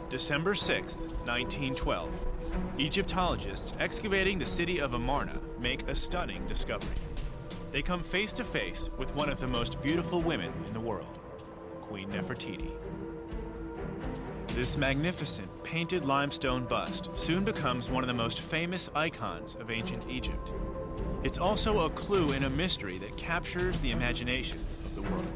December 6th, 1912. Egyptologists excavating the city of Amarna make a stunning discovery. They come face to face with one of the most beautiful women in the world, Queen Nefertiti. This magnificent painted limestone bust soon becomes one of the most famous icons of ancient Egypt. It's also a clue in a mystery that captures the imagination of the world.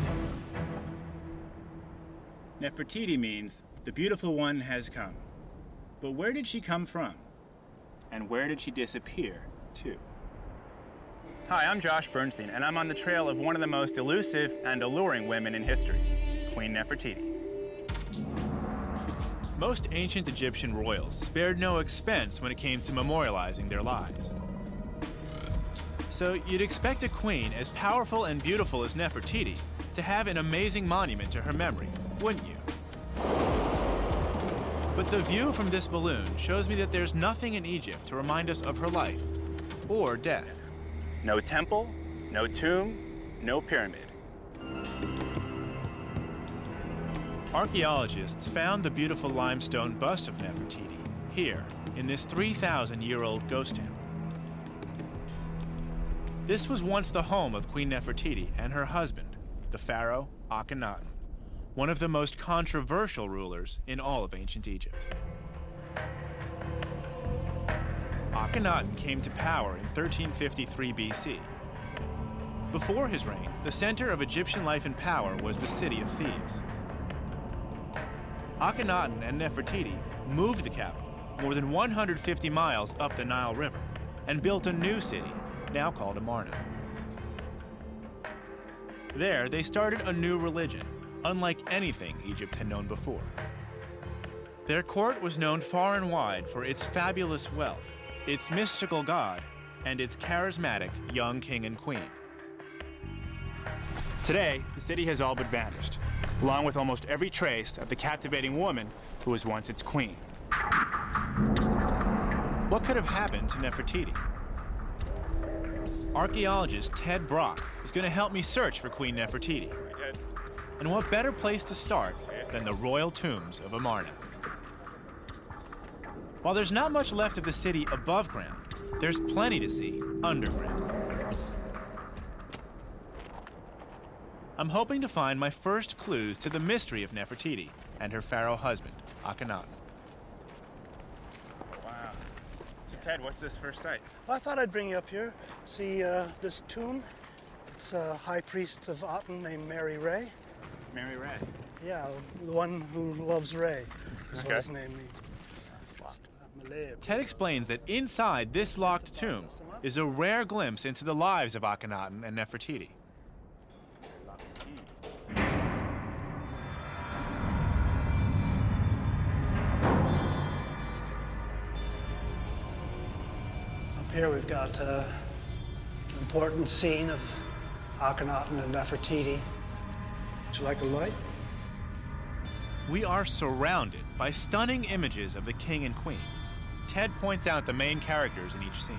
Nefertiti means the beautiful one has come. But where did she come from? And where did she disappear to? Hi, I'm Josh Bernstein, and I'm on the trail of one of the most elusive and alluring women in history, Queen Nefertiti. Most ancient Egyptian royals spared no expense when it came to memorializing their lives. So you'd expect a queen as powerful and beautiful as Nefertiti to have an amazing monument to her memory, wouldn't you? But the view from this balloon shows me that there's nothing in Egypt to remind us of her life or death. No temple, no tomb, no pyramid. Archaeologists found the beautiful limestone bust of Nefertiti here in this 3,000-year-old ghost town. This was once the home of Queen Nefertiti and her husband, the pharaoh Akhenaten, one of the most controversial rulers in all of ancient Egypt. Akhenaten came to power in 1353 BC. Before his reign, the center of Egyptian life and power was the city of Thebes. Akhenaten and Nefertiti moved the capital more than 150 miles up the Nile River and built a new city, now called Amarna. There, they started a new religion, unlike anything Egypt had known before. Their court was known far and wide for its fabulous wealth, its mystical god, and its charismatic young king and queen. Today, the city has all but vanished, along with almost every trace of the captivating woman who was once its queen. What could have happened to Nefertiti? Archaeologist Ted Brock is going to help me search for Queen Nefertiti. And what better place to start than the royal tombs of Amarna? While there's not much left of the city above ground, there's plenty to see underground. I'm hoping to find my first clues to the mystery of Nefertiti and her pharaoh husband, Akhenaten. Wow. So Ted, what's this first sight? Well, I thought I'd bring you up here. See this tomb? It's a high priest of Aten named Mary Ray. Mary Ray. Yeah, the one who loves Ray. That's what his name means. Ted explains that inside this locked tomb is a rare glimpse into the lives of Akhenaten and Nefertiti. Up here we've got an important scene of Akhenaten and Nefertiti. Would you like a light? We are surrounded by stunning images of the king and queen. Ted points out the main characters in each scene.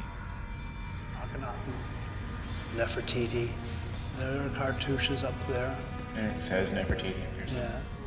Akhenaten, Nefertiti. There are cartouches up there. And it says Nefertiti. Yeah.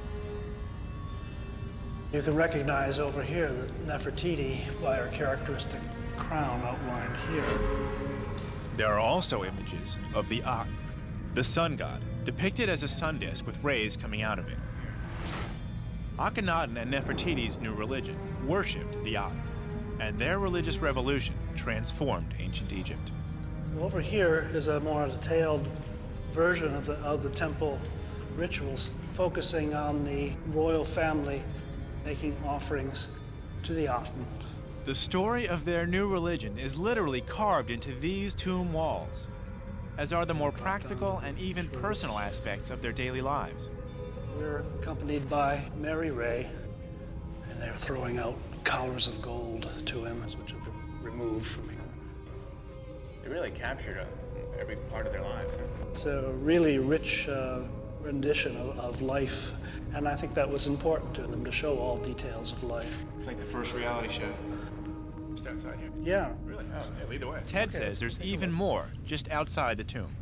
You can recognize over here that Nefertiti by her characteristic crown outlined here. There are also images of the Aten, the sun god, depicted as a sun disk with rays coming out of it. Akhenaten and Nefertiti's new religion worshipped the Aten, and their religious revolution transformed ancient Egypt. So over here is a more detailed version of the temple rituals, focusing on the royal family making offerings to the Aten. The story of their new religion is literally carved into these tomb walls, as are the more practical and even personal aspects of their daily lives. We're accompanied by Mary Ray, and they're throwing out collars of gold to him, which have been removed from him. They really captured every part of their lives. It's a really rich rendition of life, and I think that was important to them, to show all details of life. It's like the first reality show. Just outside here. Yeah. Really? Oh, yeah, lead the way. Ted says there's even more just outside the tomb.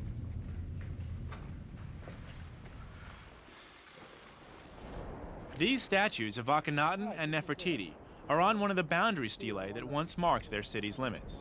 These statues of Akhenaten and Nefertiti are on one of the boundary stelae that once marked their city's limits.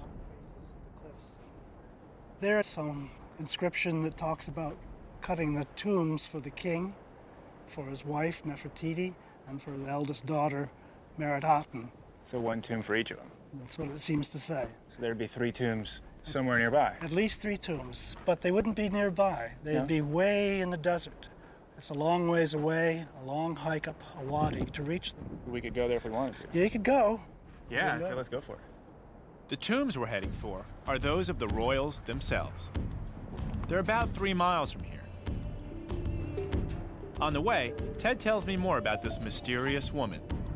There's some inscription that talks about cutting the tombs for the king, for his wife Nefertiti, and for the eldest daughter Merenhaten. So one tomb for each of them. That's what it seems to say. So there'd be 3 tombs somewhere nearby. At least 3 tombs, but they wouldn't be nearby. They'd be way in the desert. It's a long ways away, a long hike up a wadi to reach them. We could go there if we wanted to. Yeah, you could go. Yeah, so let's go for it. The tombs we're heading for are those of the royals themselves. They're about 3 miles from here. On the way, Ted tells me more about this mysterious woman.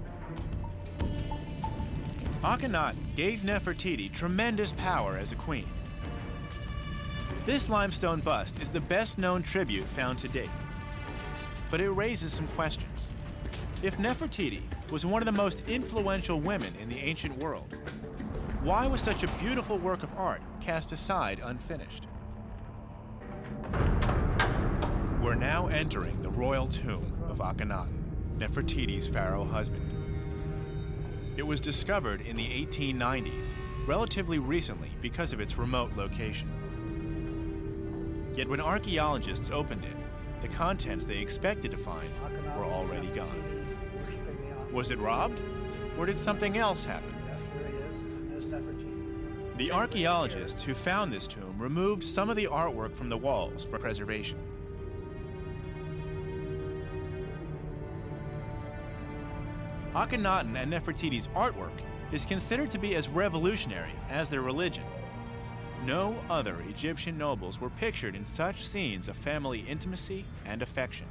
Akhenaten gave Nefertiti tremendous power as a queen. This limestone bust is the best-known tribute found to date. But it raises some questions. If Nefertiti was one of the most influential women in the ancient world, why was such a beautiful work of art cast aside unfinished? We're now entering the royal tomb of Akhenaten, Nefertiti's pharaoh husband. It was discovered in the 1890s, relatively recently because of its remote location. Yet when archaeologists opened it, the contents they expected to find were already gone. Was it robbed? Or did something else happen? Yes, there he is. There's Nefertiti. The archaeologists who found this tomb removed some of the artwork from the walls for preservation. Akhenaten and Nefertiti's artwork is considered to be as revolutionary as their religion. No other Egyptian nobles were pictured in such scenes of family intimacy and affection.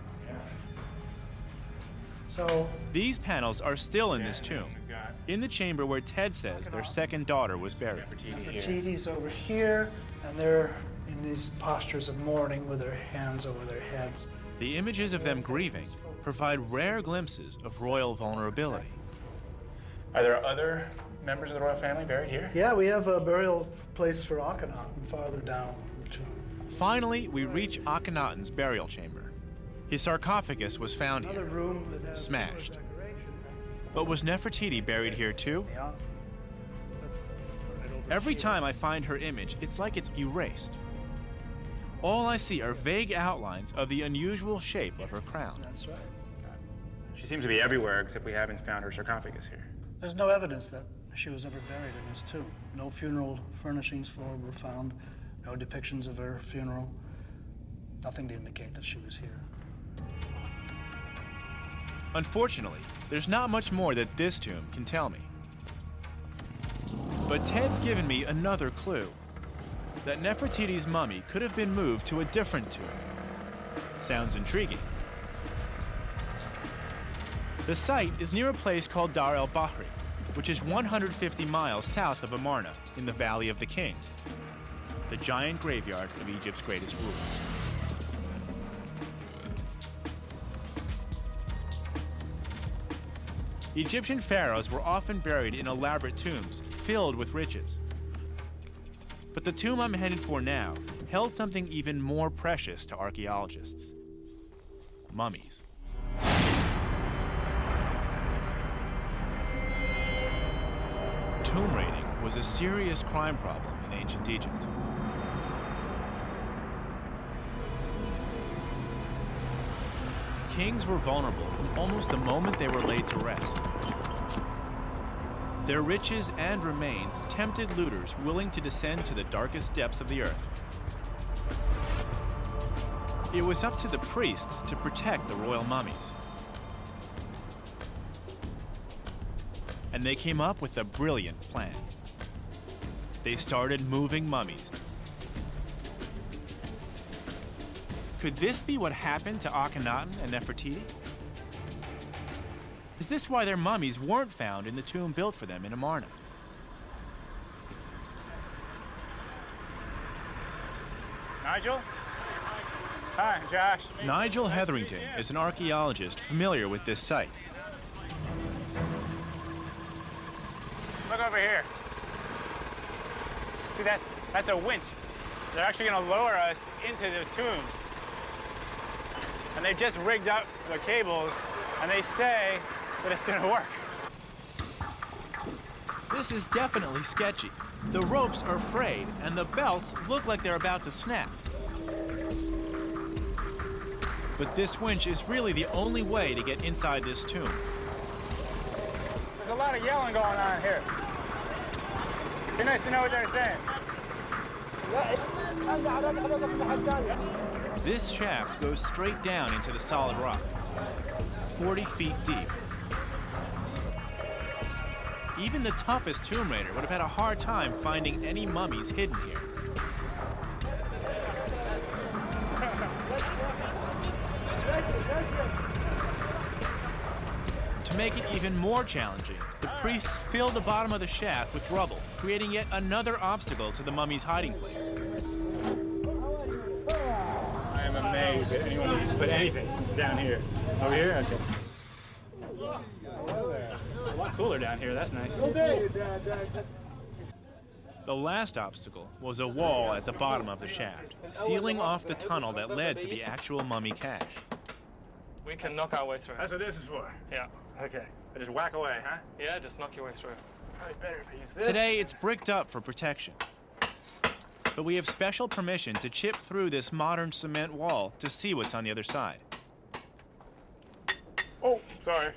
So these panels are still in this tomb, in the chamber where Ted says their second daughter was buried. Nefertiti's over here, and they're in these postures of mourning with their hands over their heads. The images of them grieving provide rare glimpses of royal vulnerability. Are there other members of the royal family buried here? Yeah, we have a burial place for Akhenaten farther down the tomb. Finally, we reach Akhenaten's burial chamber. His sarcophagus was found Another here, room that has smashed. similar decoration. But was Nefertiti buried here too? Yeah. Right over Every here. time I find her image, it's like it's erased. All I see are vague outlines of the unusual shape of her crown. That's right. She seems to be everywhere, except we haven't found her sarcophagus here. There's no evidence that she was ever buried in this tomb. No funeral furnishings for her were found. No depictions of her funeral. Nothing to indicate that she was here. Unfortunately, there's not much more that this tomb can tell me. But Ted's given me another clue. That Nefertiti's mummy could have been moved to a different tomb. Sounds intriguing. The site is near a place called Dar el-Bahri, which is 150 miles south of Amarna in the Valley of the Kings, the giant graveyard of Egypt's greatest rulers. Egyptian pharaohs were often buried in elaborate tombs filled with riches. But the tomb I'm headed for now held something even more precious to archaeologists: mummies. Tomb raiding was a serious crime problem in ancient Egypt. Kings were vulnerable from almost the moment they were laid to rest. Their riches and remains tempted looters willing to descend to the darkest depths of the earth. It was up to the priests to protect the royal mummies. And they came up with a brilliant plan. They started moving mummies. Could this be what happened to Akhenaten and Nefertiti? Is this why their mummies weren't found in the tomb built for them in Amarna? Nigel? Hi, Josh. Nigel Hetherington is an archaeologist familiar with this site. Look over here. See that? That's a winch. They're actually going to lower us into the tombs. And they've just rigged up the cables And they say that it's gonna work. This is definitely sketchy. The ropes are frayed, and the belts look like they're about to snap. But this winch is really the only way to get inside this tomb. There's a lot of yelling going on here. Be nice to know what they're saying. This shaft goes straight down into the solid rock, 40 feet deep. Even the toughest tomb raider would have had a hard time finding any mummies hidden here. To make it even more challenging, the priests fill the bottom of the shaft with rubble, creating yet another obstacle to the mummy's hiding place. I am amazed that anyone would put anything down here. Over here? Okay. A lot cooler down here, that's nice. The last obstacle was a wall at the bottom of the shaft, sealing off the tunnel that led to the actual mummy cache. We can knock our way through. That's what this is for? Yeah. Okay. I just whack away, huh? Yeah, just knock your way through. Probably better if I use this. Today, it's bricked up for protection. But we have special permission to chip through this modern cement wall to see what's on the other side. Oh, sorry.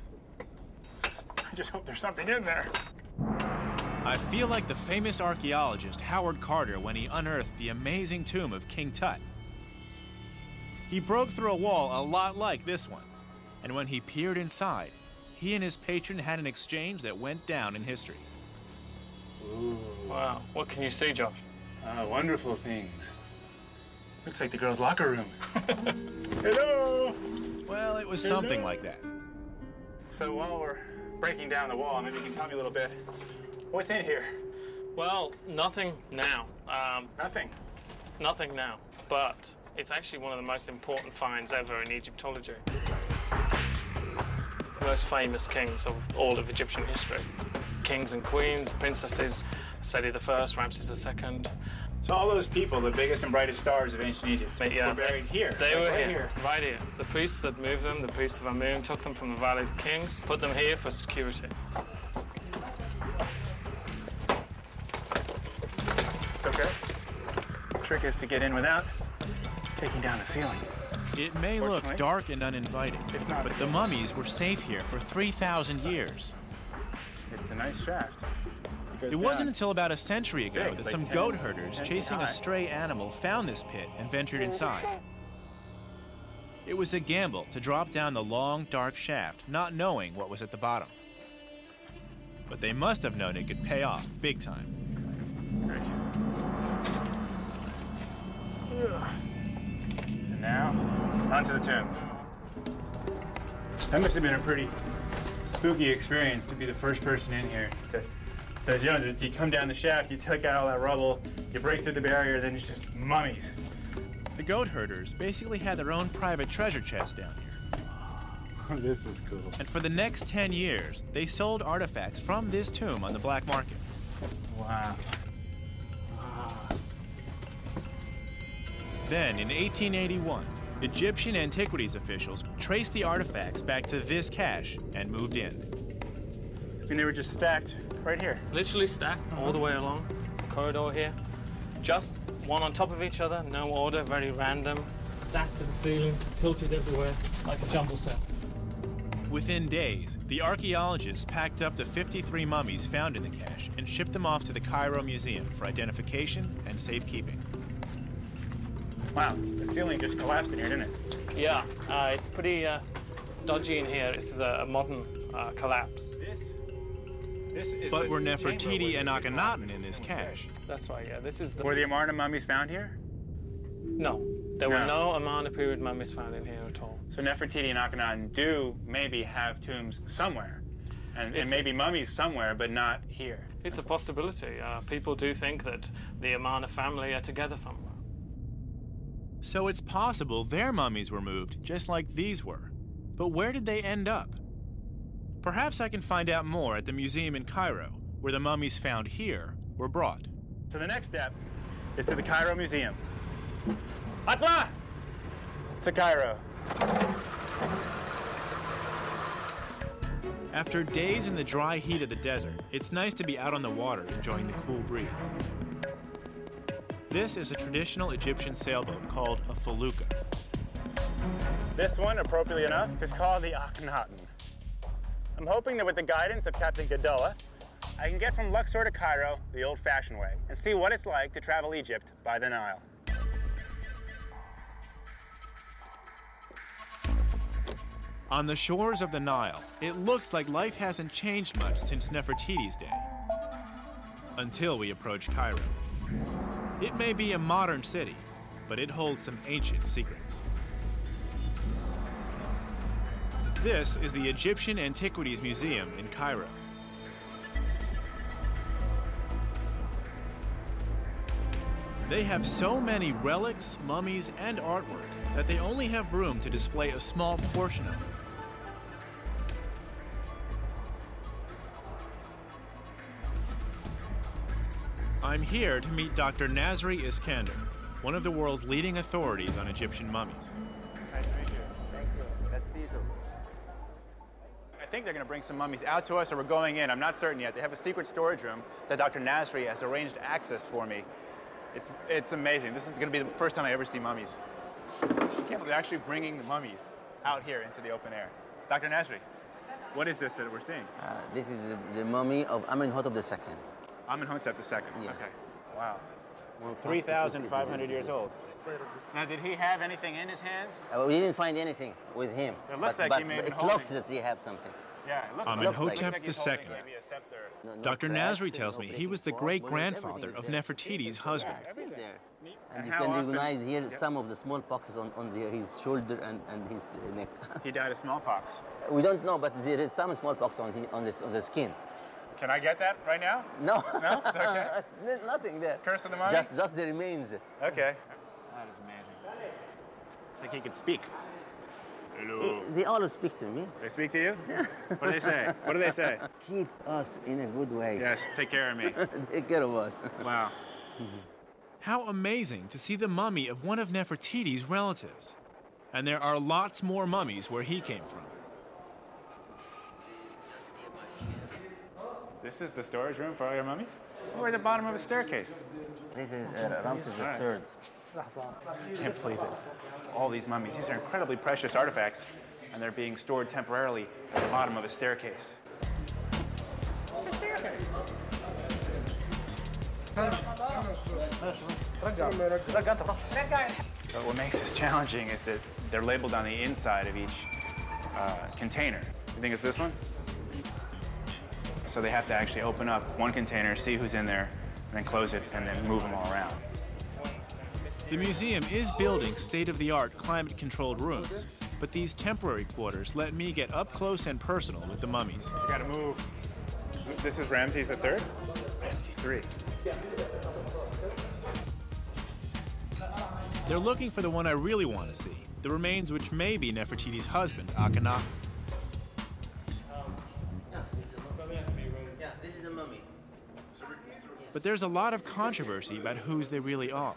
I just hope there's something in there. I feel like the famous archaeologist Howard Carter when he unearthed the amazing tomb of King Tut. He broke through a wall a lot like this one, and when he peered inside, he and his patron had an exchange that went down in history. Ooh. Wow, what can you see, Josh? Wonderful things. Looks like the girls' locker room. Hello! Well, it was something like that. So while we're breaking down the wall, maybe you can tell me a little bit. What's in here? Well, nothing now. Nothing? Nothing now, but it's actually one of the most important finds ever in Egyptology. The most famous kings of all of Egyptian history. Kings and queens, princesses, Seti I, Ramses II. So all those people, the biggest and brightest stars of ancient Egypt, were buried here. They were here, right here. The priests that moved them, the priests of Amun, took them from the Valley of the Kings, put them here for security. It's okay. The trick is to get in without taking down the ceiling. It may look dark and uninviting, it's not, but the mummies were safe here for 3,000 years. It's a nice shaft. It wasn't until about a century ago that some goat herders chasing a stray animal found this pit and ventured inside. It was a gamble to drop down the long, dark shaft, not knowing what was at the bottom. But they must have known it could pay off big time. Great. And now, onto the tombs. That must have been a pretty spooky experience to be the first person in here. So you come down the shaft, you take out all that rubble, you break through the barrier, then it's just mummies. The goat herders basically had their own private treasure chest down here. Oh, this is cool. And for the next 10 years, they sold artifacts from this tomb on the black market. Wow. Then, in 1881, Egyptian antiquities officials traced the artifacts back to this cache and moved in. And they were just stacked right here. Literally stacked all the way along the corridor here. Just one on top of each other, no order, very random. Stacked to the ceiling, tilted everywhere, like a jumble set. Within days, the archaeologists packed up the 53 mummies found in the cache and shipped them off to the Cairo Museum for identification and safekeeping. Wow, the ceiling just collapsed in here, didn't it? Yeah, it's pretty dodgy in here. This is a modern collapse. But were Nefertiti and Akhenaten in this cache? That's right, yeah. This is Were the Amarna mummies found here? No, there were no Amarna period mummies found in here at all. So Nefertiti and Akhenaten do maybe have tombs somewhere, and maybe mummies somewhere, but not here. It's a possibility. People do think that the Amarna family are together somewhere. So it's possible their mummies were moved just like these were. But where did they end up? Perhaps I can find out more at the museum in Cairo, where the mummies found here were brought. So the next step is to the Cairo Museum. Atla! To Cairo. After days in the dry heat of the desert, it's nice to be out on the water enjoying the cool breeze. This is a traditional Egyptian sailboat called a felucca. This one, appropriately enough, is called the Akhenaten. I'm hoping that with the guidance of Captain Gadola, I can get from Luxor to Cairo the old-fashioned way and see what it's like to travel Egypt by the Nile. On the shores of the Nile, it looks like life hasn't changed much since Nefertiti's day. Until we approach Cairo. It may be a modern city, but it holds some ancient secrets. This is the Egyptian Antiquities Museum in Cairo. They have so many relics, mummies, and artwork that they only have room to display a small portion of them. I'm here to meet Dr. Nasri Iskander, one of the world's leading authorities on Egyptian mummies. Nice to meet you. Thank you. Let's see you. I think they're going to bring some mummies out to us, or we're going in. I'm not certain yet. They have a secret storage room that Dr. Nasri has arranged access for me. It's amazing. This is going to be the first time I ever see mummies. I can't believe they're actually bringing the mummies out here into the open air. Dr. Nasri, what is this that we're seeing? This is the mummy of Amenhotep II. Amenhotep II. Yeah. Okay. Wow. Well, 3,500 years old. Now, did he have anything in his hands? We didn't find anything with him. It looks like he may have been it holding. looks that he had something. Yeah, it looks Amenhotep like he's holding II. maybe a scepter. Dr. Nasri tells me he was the great-grandfather of Nefertiti's husband. Yeah, see there. And And you how can often- recognize here Yep. some of the smallpoxes on his shoulder and his neck. He died of smallpox. We don't know, but there is some smallpox on the skin. Can I get that right now? No, No? It's okay. It's nothing there. Curse of the mummy? Just the remains. Okay. That is amazing. It's like he could speak. Hello. They always speak to me. They speak to you? What do they say? What do they say? Keep us in a good way. Yes, take care of me. Take care of us. Wow. How amazing to see the mummy of one of Nefertiti's relatives. And there are lots more mummies where he came from. This is the storage room for all your mummies? We're at the bottom of a staircase. This is Ramses III. Can't believe it. All these mummies, these are incredibly precious artifacts, and they're being stored temporarily at the bottom of a staircase. It's a staircase. But what makes this challenging is that they're labeled on the inside of each container. You think it's this one? So they have to actually open up one container, see who's in there, and then close it, and then move them all around. The museum is building state-of-the-art climate-controlled rooms, but these temporary quarters let me get up close and personal with the mummies. You gotta move. This is Ramses III? Ramses III. They're looking for the one I really want to see, the remains which may be Nefertiti's husband, Akhenaten. Yeah, this is a mummy. But there's a lot of controversy about whose they really are.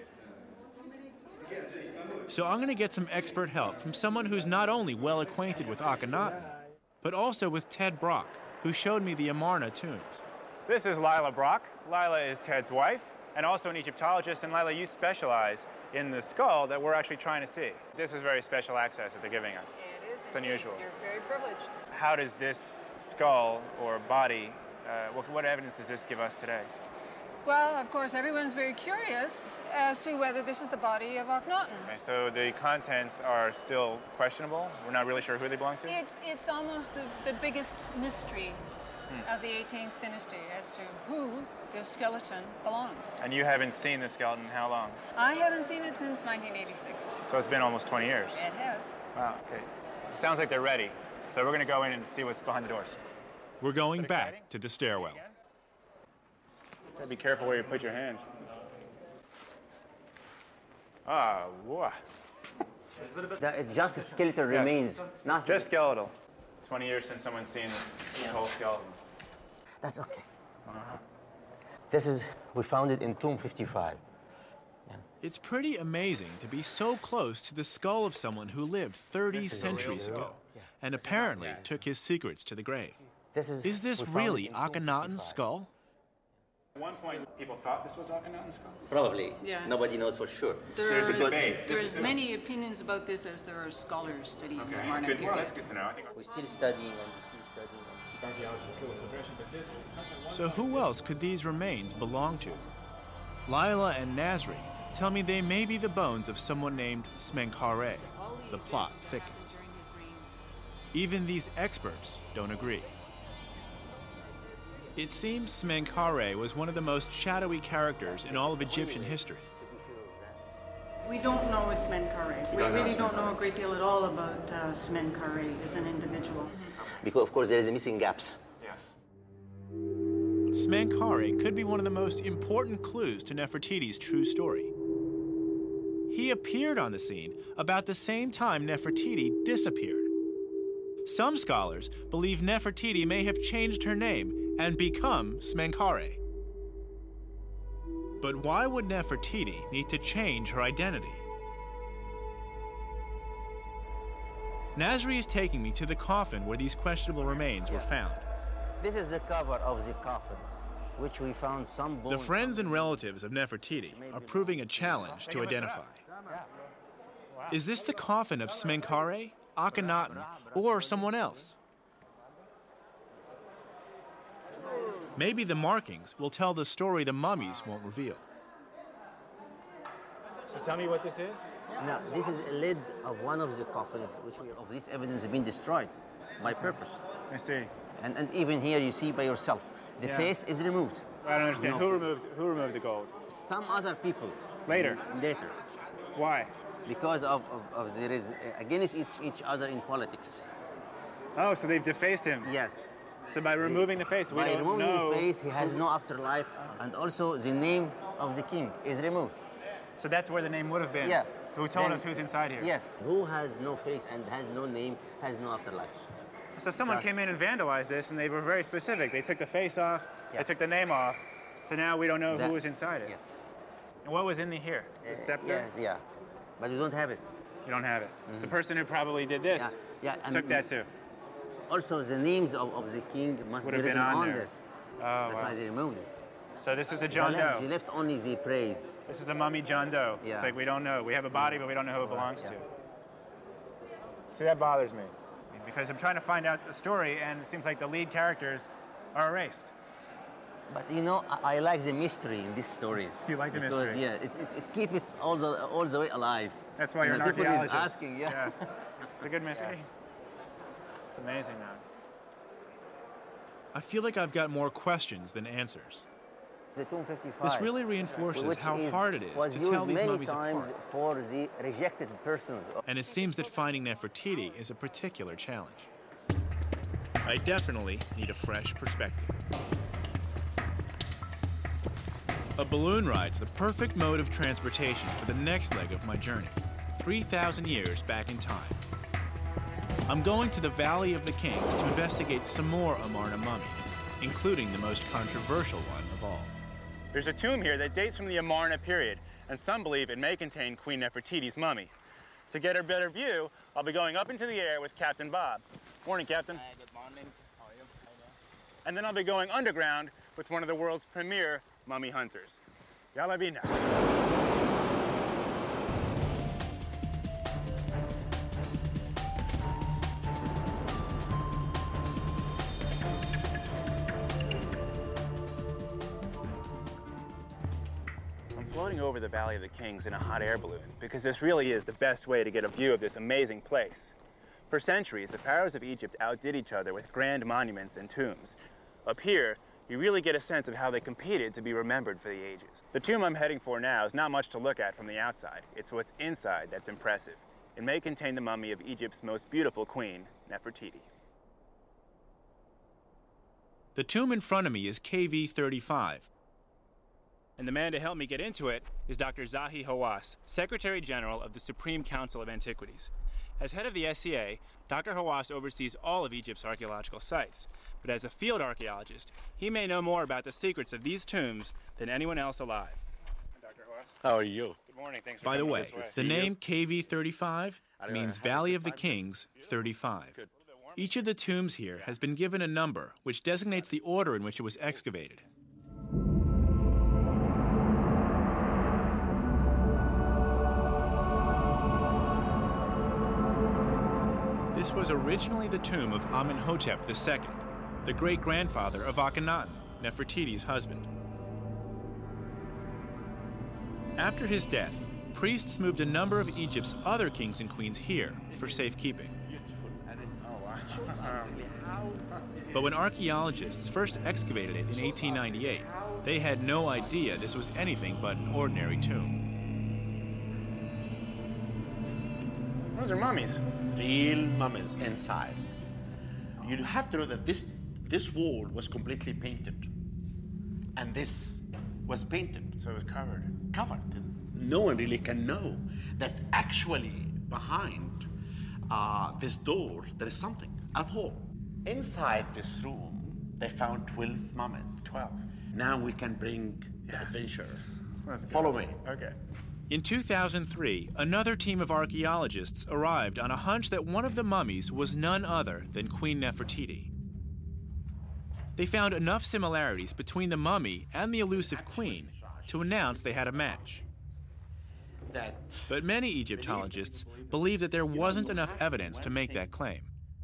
So I'm going to get some expert help from someone who's not only well acquainted with Akhenaten, but also with Ted Brock, who showed me the Amarna tombs. This is Lila Brock. Lila is Ted's wife and also an Egyptologist. And Lila, you specialize in the skull that we're actually trying to see. This is very special access that they're giving us. It is. It's indeed. unusual. You're very privileged. How does this skull or body, what evidence does this give us today? Well, of course, everyone's very curious as to whether this is the body of Akhenaten. Okay, so the contents are still questionable. We're not really sure who they belong to. It's almost the biggest mystery of the 18th dynasty as to who this skeleton belongs. And you haven't seen the skeleton in how long? I haven't seen it since 1986. So it's been almost 20 years. It has. Wow, okay. It sounds like they're ready. So we're going to go in and see what's behind the doors. We're going exciting? back to the stairwell. Gotta be careful where you put your hands. Ah, whoa. It's just a skeletal remains. Nothing. Just skeletal. 20 years since someone's seen this whole skeleton. That's okay. We found it in tomb 55. It's pretty amazing to be so close to the skull of someone who lived 30 centuries ago. and apparently took his secrets to the grave. Is this we found really it in Akhenaten's 255. skull? At one point, people thought this was Akhenaten's skull. Probably. Yeah. Nobody knows for sure. There's a debate. There's many opinions about this as there are scholars studying the Amarna Good. Well, period. that's good to know. I think We're still studying and we're still studying. So who else could these remains belong to? Lila and Nasri tell me they may be the bones of someone named Smenkhare. The plot thickens. Even these experts don't agree. It seems Smenkhare was one of the most shadowy characters in all of Egyptian history. We don't know it's Smenkhare. We really don't know a great deal at all about Smenkhare as an individual. Because of course there is missing gaps. yes. Smenkhare could be one of the most important clues to Nefertiti's true story. He appeared on the scene about the same time Nefertiti disappeared. Some scholars believe Nefertiti may have changed her name and become Smenkhare. But why would Nefertiti need to change her identity? Nasri is taking me to the coffin where these questionable remains were found. This is the cover of the coffin, which we found some bones. The friends and relatives of Nefertiti are proving a challenge to identify. Is this the coffin of Smenkhare, Akhenaten, or someone else? Maybe the markings will tell the story the mummies won't reveal. So tell me what this is. Now, this is a lid of one of the coffins, which of this evidence has been destroyed by purpose. I see. And even here you see by yourself, the Yeah. face is removed. I don't understand. No. Who removed the gold? Some other people. Later. Later. Why? Because of there is against each other in politics. Oh, so they've defaced him. Yes. So by removing the face, we By don't removing know. the face, he has no afterlife, and also the name of the king is removed. So that's where the name would have been. Yeah. Who told Then- us who's inside here? Yes. Who has no face and has no name has no afterlife. So someone Just- came in and vandalized this, and they were very specific. They took the face off. Yeah. They took the name off. So now we don't know That- who was inside it. Yes. And what was in here? The scepter. Yeah. But we don't have it. You don't have it. The person who probably did this Yeah. And took that too. Also, the names of the king must Would be have been written on on there. this. Oh, That's wow. why they removed it. So this is a John Doe. He left only the praise. This is a mummy John Doe. Yeah. It's like we don't know. We have a body, but we don't know who it belongs Yeah. to. See, that bothers me. Because I'm trying to find out the story, and it seems like the lead characters are erased. But you know, I like the mystery in these stories. You like the because, mystery? Yeah, it keeps it all the way alive. That's why You you're know, an people archaeologist. is asking, yeah. Yes. It's a good mystery. It's amazing, man. I feel like I've got more questions than answers. The Tomb 55. This really reinforces which how hard it was is to tell used these many mummies times apart. for the rejected persons. And it seems that finding Nefertiti is a particular challenge. I definitely need a fresh perspective. A balloon ride's the perfect mode of transportation for the next leg of my journey, 3,000 years back in time. I'm going to the Valley of the Kings to investigate some more Amarna mummies, including the most controversial one of all. There's a tomb here that dates from the Amarna period, and some believe it may contain Queen Nefertiti's mummy. To get a better view, I'll be going up into the air with Captain Bob. Morning, Captain. Good morning. How are you? And then I'll be going underground with one of the world's premier mummy hunters. Yalla bina. I'm floating over the Valley of the Kings in a hot air balloon because this really is the best way to get a view of this amazing place. For centuries, the pharaohs of Egypt outdid each other with grand monuments and tombs. Up here, you really get a sense of how they competed to be remembered for the ages. The tomb I'm heading for now is not much to look at from the outside. It's what's inside that's impressive. It may contain the mummy of Egypt's most beautiful queen, Nefertiti. The tomb in front of me is KV 35. And the man to help me get into it is Dr. Zahi Hawass, Secretary General of the Supreme Council of Antiquities. As head of the SCA, Dr. Hawass oversees all of Egypt's archaeological sites. But as a field archaeologist, he may know more about the secrets of these tombs than anyone else alive. Dr. Hawass. How are you? Good morning. Thanks for By the coming way, this way. the name KV 35 means Valley of the Kings 35. Each of the tombs here has been given a number, which designates the order in which it was excavated. This was originally the tomb of Amenhotep II, the great-grandfather of Akhenaten, Nefertiti's husband. How?After his death, priests moved a number of Egypt's other kings and queens here for safekeeping. But when archaeologists first excavated it in 1898, they had no idea this was anything but an ordinary tomb. Those are mummies. Real mummies inside. You have to know that this wall was completely painted. And this was painted. So it was covered. Covered. No one really can know that actually behind this door there is something at all. Inside this room, they found 12 mummies. 12. Now we can bring the adventure. Follow me. Okay. In 2003, another team of archaeologists arrived on a hunch that one of the mummies was none other than Queen Nefertiti. They found enough similarities between the mummy and the elusive queen to announce they had a match. But many Egyptologists believe that there wasn't enough evidence to make that claim.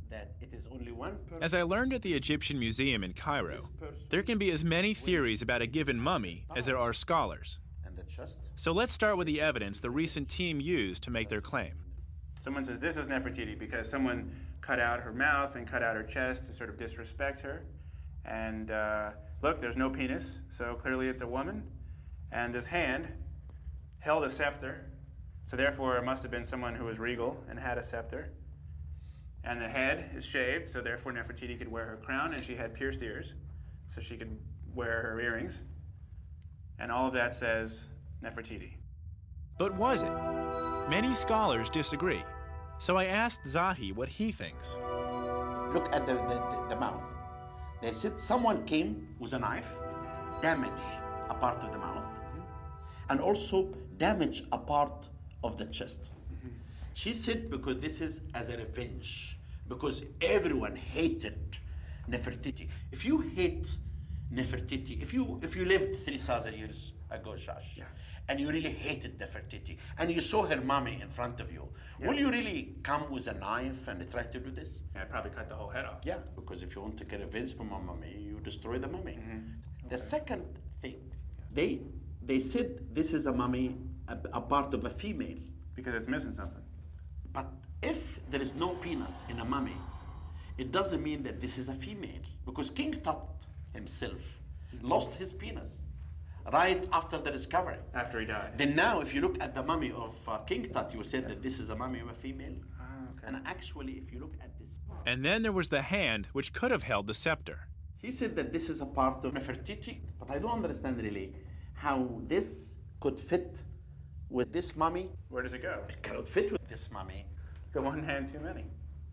As I learned at the Egyptian Museum in Cairo, there can be as many theories about a given mummy as there are scholars. So let's start with the evidence the recent team used to make their claim. Someone says this is Nefertiti because someone cut out her mouth and cut out her chest to sort of disrespect her. And look, there's no penis, so clearly it's a woman. And this hand held a scepter, so therefore it must have been someone who was regal and had a scepter. And the head is shaved, so therefore Nefertiti could wear her crown, and she had pierced ears, so she could wear her earrings. And all of that says Nefertiti. But was it? Many scholars disagree. So I asked Zahi what he thinks. Look at the mouth. They said someone came with a knife, damaged a part of the mouth, and also damaged a part of the chest. She said because this is as a revenge, because everyone hated Nefertiti. If you hate Nefertiti, if you lived 3,000 years ago, Josh, and you really hated Nefertiti, and you saw her mummy in front of you, will you really come with a knife and try to do this? I'd probably cut the whole head off. Yeah, because if you want to get revenge from a mummy, you destroy the mummy. The second thing, they said this is a mummy, a part of a female. Because it's missing something. But if there is no penis in a mummy, it doesn't mean that this is a female. Because King Tut himself lost his penis right after the discovery. After he died. Then now, if you look at the mummy of King Tut, you will say that this is a mummy of a female. Okay. And actually, if you look at this part... And then there was the hand, which could have held the scepter. He said that this is a part of Nefertiti, but I don't understand really how this could fit with this mummy. Where does it go? It cannot fit with this mummy. The one hand too many.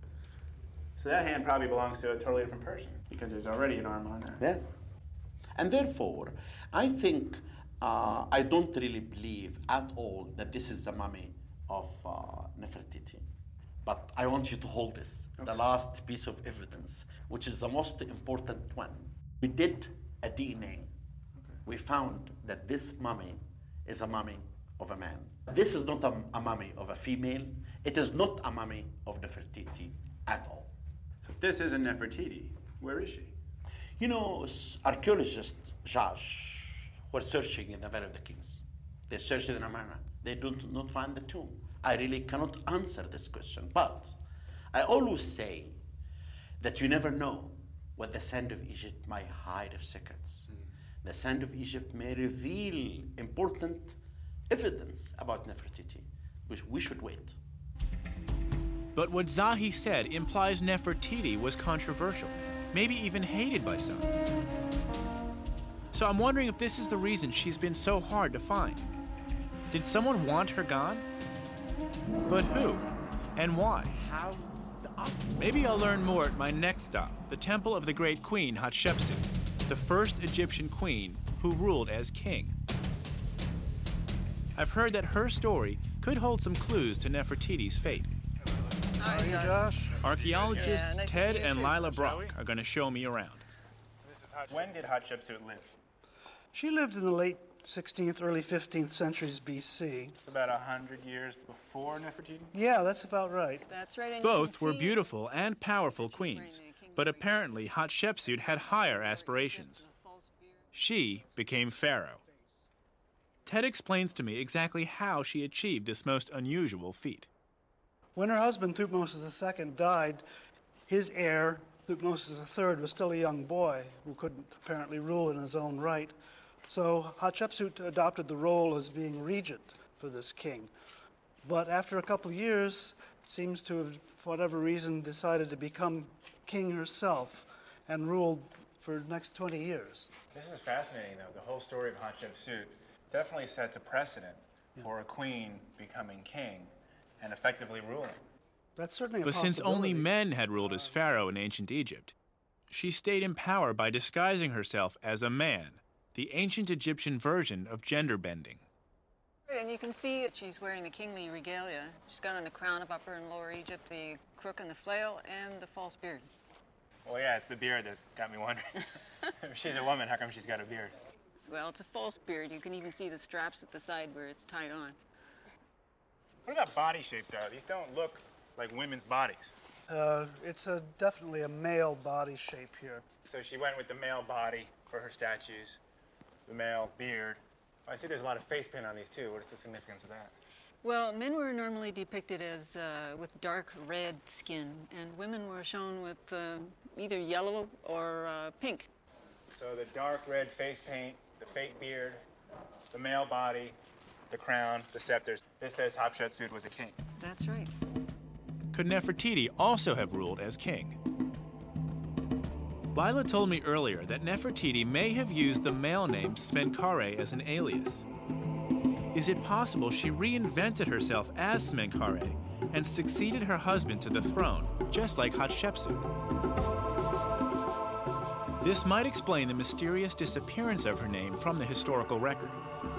So that hand probably belongs to a totally different person because there's already an arm on there. Yeah. And therefore, I think I don't really believe at all that this is the mummy of Nefertiti. But I want you to hold this, the last piece of evidence, which is the most important one. We did a DNA. We found that this mummy is a mummy of a man. This is not a mummy of a female. It is not a mummy of Nefertiti at all. So if this isn't Nefertiti, where is she? You know, archaeologists, Josh, were searching in the Valley of the Kings. They searched in Amarna. They do not find the tomb. I really cannot answer this question, but I always say that you never know what the sand of Egypt might hide of secrets. The sand of Egypt may reveal important evidence about Nefertiti, which we should wait. But what Zahi said implies Nefertiti was controversial, maybe even hated by some. So I'm wondering if this is the reason she's been so hard to find. Did someone want her gone? But who? And why? Maybe I'll learn more at my next stop, the temple of the great queen Hatshepsut, the first Egyptian queen who ruled as king. I've heard that her story could hold some clues to Nefertiti's fate. Hi, Josh. Archaeologists Ted and Lila Brock are going to show me around. When did Hatshepsut live? She lived in the late 16th, early 15th centuries BC. It's about 100 years before Nefertiti? Yeah, that's about right. That's right. and Both you were can see beautiful and powerful queens, but apparently Hatshepsut had higher aspirations. She became pharaoh. Ted explains to me exactly how she achieved this most unusual feat. When her husband, Thutmose II, died, his heir, Thutmose III, was still a young boy who couldn't apparently rule in his own right. So Hatshepsut adopted the role as being regent for this king. But after a couple of years, seems to have, for whatever reason, decided to become king herself and ruled for the next 20 years. This is fascinating, though. The whole story of Hatshepsut definitely sets a precedent for a queen becoming king and effectively ruling. That's certainly a But possibility. since only men had ruled as pharaoh in ancient Egypt, she stayed in power by disguising herself as a man, the ancient Egyptian version of gender bending. And you can see that she's wearing the kingly regalia. She's got on the crown of Upper and Lower Egypt, the crook and the flail, and the false beard. Well, yeah, it's the beard that got me wondering. If she's a woman, how come she's got a beard? Well, it's a false beard. You can even see the straps at the side where it's tied on. What about body shape, though? These don't look like women's bodies. It's definitely a male body shape here. So she went with the male body for her statues, the male beard. I see there's a lot of face paint on these, too. What is the significance of that? Well, men were normally depicted as with dark red skin, and women were shown with either yellow or pink. So the dark red face paint, the fake beard, the male body, the crown, the scepters. This says Hatshepsut was a king. That's right. Could Nefertiti also have ruled as king? Lila told me earlier that Nefertiti may have used the male name Smenkhare as an alias. Is it possible she reinvented herself as Smenkhare and succeeded her husband to the throne, just like Hatshepsut? This might explain the mysterious disappearance of her name from the historical record.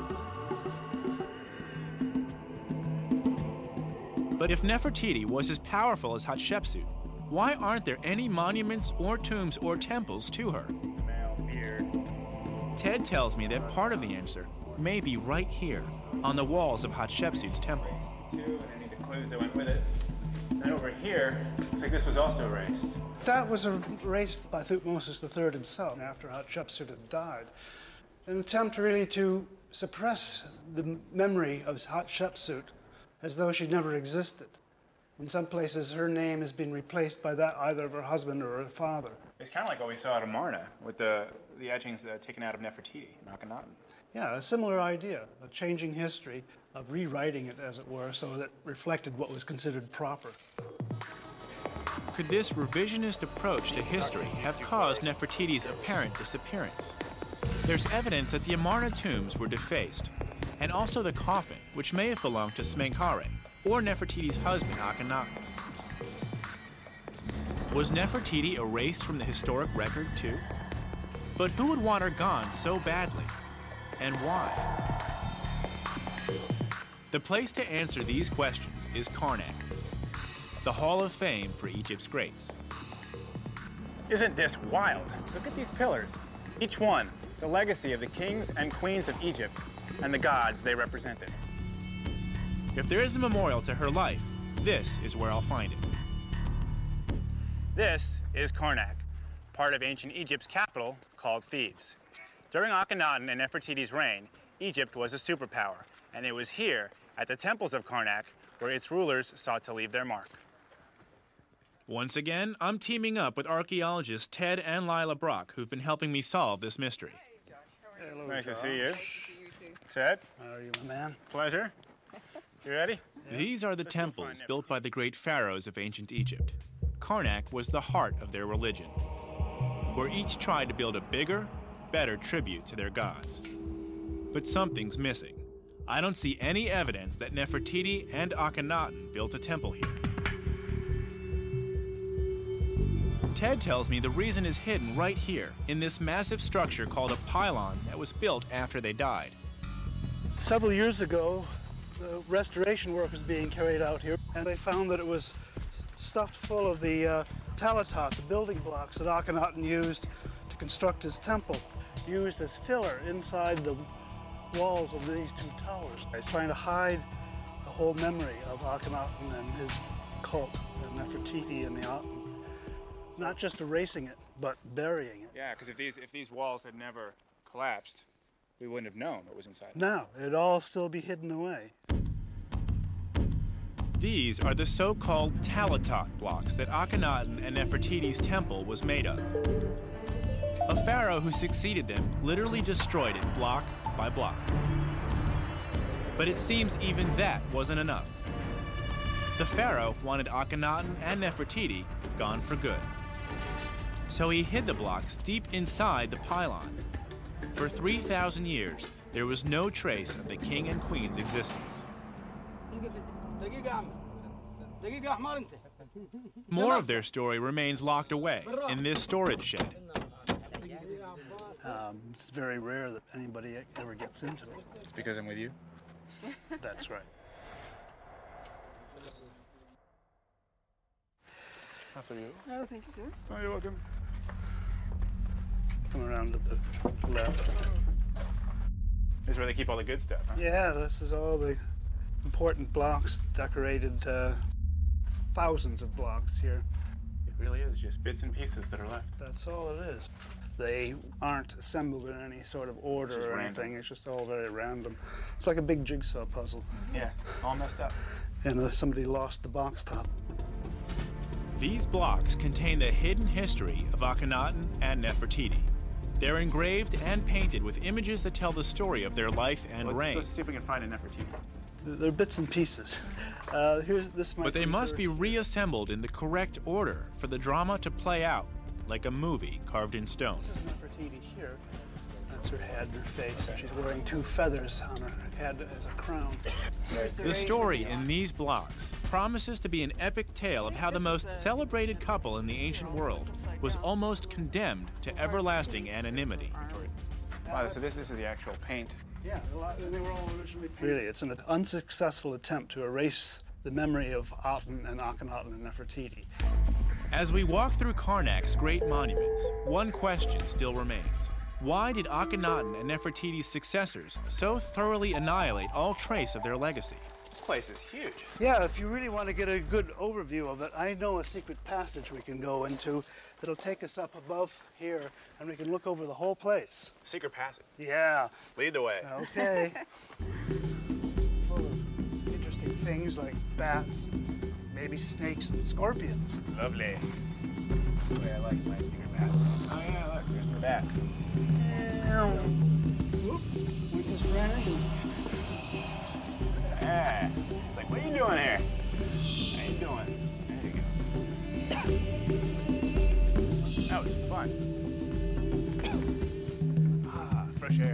But if Nefertiti was as powerful as Hatshepsut, why aren't there any monuments or tombs or temples to her? Male beard. Ted tells me that part of the answer may be right here, on the walls of Hatshepsut's temple. And any of the clues that went with it. And over here, looks like this was also erased. That was erased by Thutmose III himself after Hatshepsut had died. An attempt really to suppress the memory of Hatshepsut as though she never existed. In some places, her name has been replaced by that either of her husband or her father. It's kind of like what we saw at Amarna with the etchings taken out of Nefertiti in Akhenaten. Yeah, a similar idea, a changing history, of rewriting it, as it were, so that it reflected what was considered proper. Could this revisionist approach to history have caused Nefertiti's apparent disappearance? There's evidence that the Amarna tombs were defaced, and also the coffin, which may have belonged to Smenkhare, or Nefertiti's husband, Akhenaten. Was Nefertiti erased from the historic record, too? But who would want her gone so badly? And why? The place to answer these questions is Karnak, the Hall of Fame for Egypt's greats. Isn't this wild? Look at these pillars. Each one, the legacy of the kings and queens of Egypt and the gods they represented. If there is a memorial to her life, this is where I'll find it. This is Karnak, part of ancient Egypt's capital called Thebes. During Akhenaten and Nefertiti's reign, Egypt was a superpower, and it was here, at the temples of Karnak, where its rulers sought to leave their mark. Once again, I'm teaming up with archaeologists Ted and Lila Brock, who've been helping me solve this mystery. Hello, Nice to Josh. see you. Ted, How are you, my man? pleasure. You ready? These are the temples built by the great pharaohs of ancient Egypt. Karnak was the heart of their religion, where each tried to build a bigger, better tribute to their gods. But something's missing. I don't see any evidence that Nefertiti and Akhenaten built a temple here. Ted tells me the reason is hidden right here, in this massive structure called a pylon that was built after they died. Several years ago, the restoration work was being carried out here, and they found that it was stuffed full of the talatot, the building blocks that Akhenaten used to construct his temple, used as filler inside the walls of these two towers. He's trying to hide the whole memory of Akhenaten and his cult, the Nefertiti and the Aten. Not just erasing it, but burying it. Yeah, because if these walls had never collapsed, we wouldn't have known what was inside. No, it'd all still be hidden away. These are the so-called talatot blocks that Akhenaten and Nefertiti's temple was made of. A pharaoh who succeeded them literally destroyed it block by block. But it seems even that wasn't enough. The pharaoh wanted Akhenaten and Nefertiti gone for good. So he hid the blocks deep inside the pylon. For 3,000 years, there was no trace of the king and queen's existence. More of their story remains locked away in this storage shed. It's very rare that anybody ever gets into it. It's because I'm with you? That's right. After you. Oh, thank you, sir. Oh, you're welcome. Come around to the left. This is where they keep all the good stuff, huh? Yeah, this is all the important blocks, decorated thousands of blocks here. It really is just bits and pieces that are left. That's all it is. They aren't assembled in any sort of order or anything. It's just all very random. It's like a big jigsaw puzzle. Yeah, all messed up. And somebody lost the box top. These blocks contain the hidden history of Akhenaten and Nefertiti. They're engraved and painted with images that tell the story of their life and reign. Let's see if we can find a Nefertiti. They're bits and pieces. But they must be reassembled in the correct order for the drama to play out, like a movie carved in stone. This is Nefertiti here. That's her head, her face, and she's wearing two feathers on her head as a crown. The story in these blocks promises to be an epic tale of how the most celebrated couple in the ancient world was almost condemned to everlasting anonymity. Wow, so this is the actual paint. Yeah, they were all originally painted. Really, it's an unsuccessful attempt to erase the memory of Aten and Akhenaten and Nefertiti. As we walk through Karnak's great monuments, one question still remains. Why did Akhenaten and Nefertiti's successors so thoroughly annihilate all trace of their legacy? This place is huge. Yeah, if you really want to get a good overview of it, I know a secret passage we can go into that'll take us up above here, and we can look over the whole place. Secret passage. Yeah. Lead the way. Okay. Full of interesting things like bats, maybe snakes and scorpions. Lovely. The way I like my secret passages. Oh yeah, look, there's the bats. We just ran into them. Yeah. It's like, what are you doing here? How you doing? There you go. That was fun. Fresh air.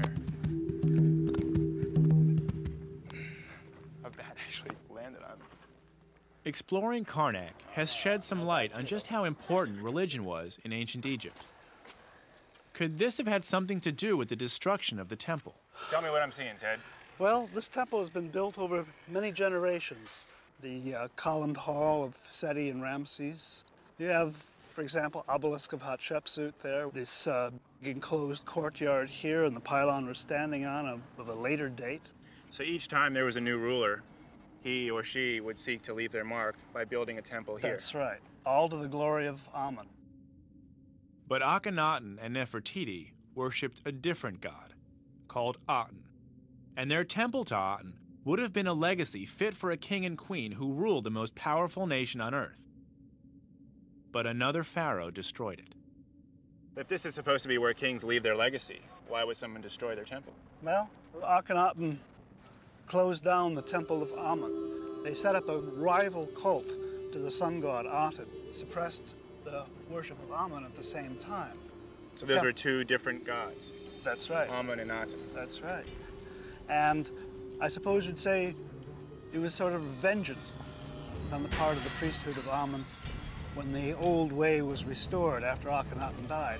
A bat actually landed on me. Exploring Karnak has shed some light on just how important religion was in ancient Egypt. Could this have had something to do with the destruction of the temple? Tell me what I'm seeing, Ted. Well, this temple has been built over many generations. The columned hall of Seti and Ramses. You have, for example, obelisk of Hatshepsut there. This enclosed courtyard here, and the pylon we're standing on of a later date. So each time there was a new ruler, he or she would seek to leave their mark by building a temple here. That's right. All to the glory of Amun. But Akhenaten and Nefertiti worshipped a different god, called Aten. And their temple to Aten would have been a legacy fit for a king and queen who ruled the most powerful nation on earth. But another pharaoh destroyed it. If this is supposed to be where kings leave their legacy, why would someone destroy their temple? Well, Akhenaten closed down the temple of Amun. They set up a rival cult to the sun god Aten, suppressed the worship of Amun at the same time. So those were two different gods. That's right. Amun and Aten. That's right. And I suppose you'd say it was sort of vengeance on the part of the priesthood of Amun when the old way was restored after Akhenaten died.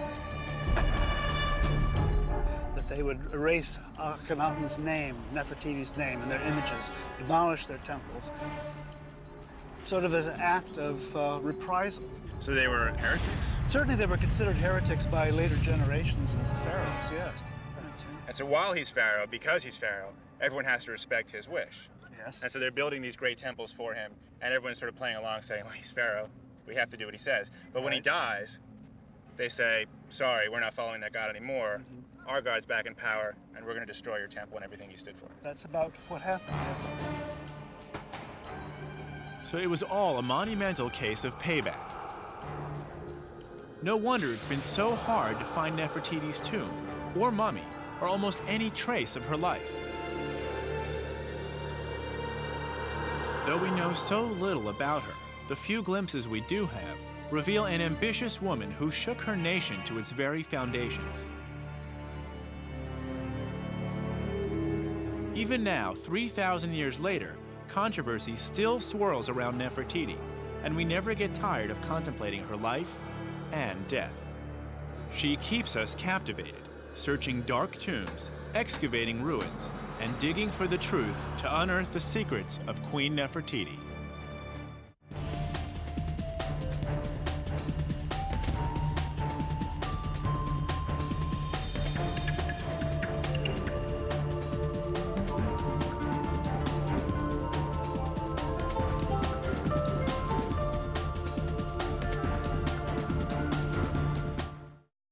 That they would erase Akhenaten's name, Nefertiti's name, and their images, demolish their temples, sort of as an act of reprisal. So they were heretics? Certainly they were considered heretics by later generations of pharaohs, yes. That's right. And so while he's Pharaoh, because he's Pharaoh, everyone has to respect his wish. Yes. And so they're building these great temples for him, and everyone's sort of playing along saying, well, he's Pharaoh, we have to do what he says. But when he dies, they say, sorry, we're not following that God anymore. Our God's back in power, and we're going to destroy your temple and everything you stood for. That's about what happened. So it was all a monumental case of payback. No wonder it's been so hard to find Nefertiti's tomb, or mummy, or almost any trace of her life. Though we know so little about her, the few glimpses we do have reveal an ambitious woman who shook her nation to its very foundations. Even now, 3,000 years later, controversy still swirls around Nefertiti, and we never get tired of contemplating her life and death. She keeps us captivated, searching dark tombs, excavating ruins, and digging for the truth to unearth the secrets of Queen Nefertiti.